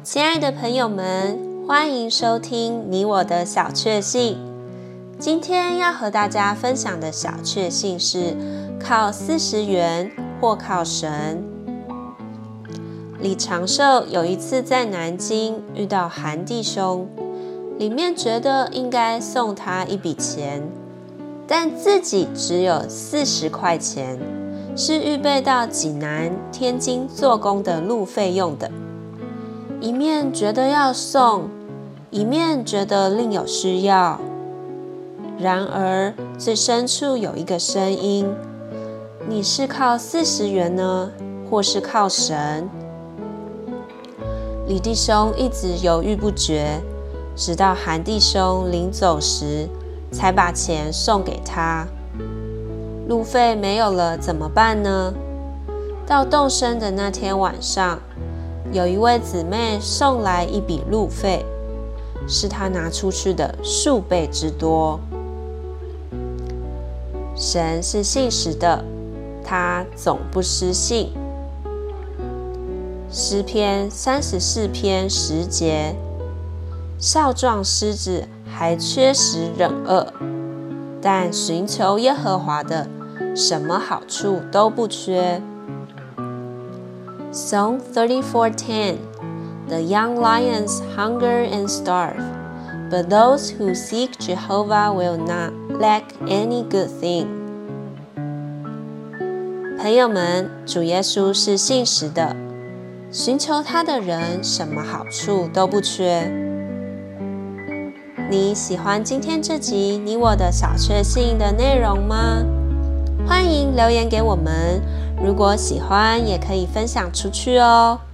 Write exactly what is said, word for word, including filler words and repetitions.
親愛的朋友們，歡迎收聽你我的小確幸。今天要和大家分享的小確幸是靠四十元或靠神。李長壽有一次在南京遇到韓弟兄，裡面覺得應該送他一筆錢，但自己只有四十塊錢，是預備到濟南、天津做工的路費用的。一面覺得要送，一面覺得另有需要。然而最深處有一個聲音：你是靠四十元呢，或是靠神？李弟兄一直猶豫不決，直到韓弟兄臨走時，才把錢送給他。路費沒有了怎麼辦呢？到動身的那天晚上，有一位姊妹送來一筆路費，是她拿出去的數倍之多。神是信實的，他總不失信。詩篇三十四篇十節，少壯獅子還缺食忍餓，但尋求耶和華的，什麼好處都不缺。Psalm thirty-four ten, The young lions hunger and starve, but those who seek Jehovah will not lack any good thing. 朋友們，主耶穌是信實的，尋求他的人什麼好處都不缺。你喜歡今天這集你我的小確幸的內容嗎？歡迎留言給我們，如果喜歡也可以分享出去哦。